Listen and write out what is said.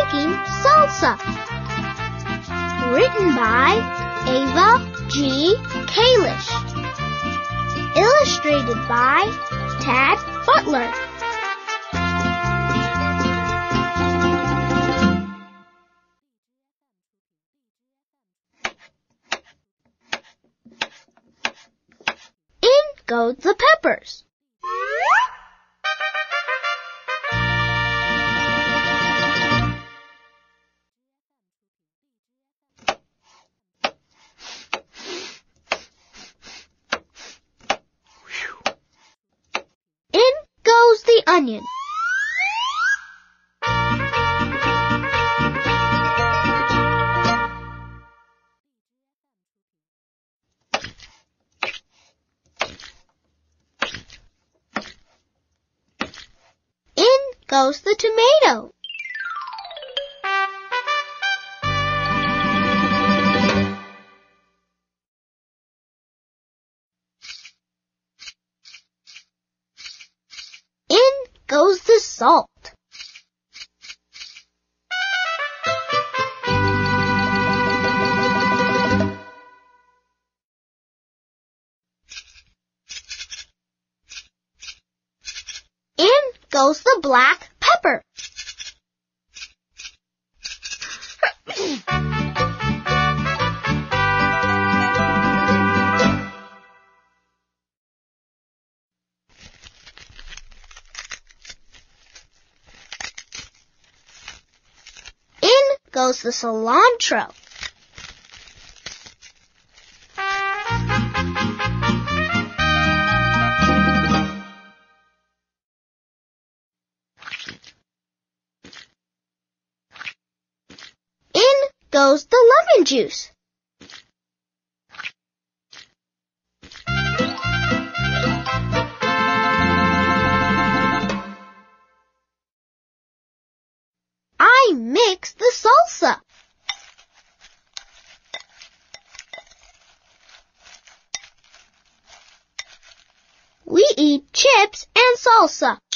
making salsa. Written by Ava G. Kalish. Illustrated by Tad Butler. In go the peppers. In goes the onion. In goes the tomato. In goes the salt. In goes the black pepper. In goes the cilantro. In goes the lemon juice. I mix the salsa. We eat chips and salsa.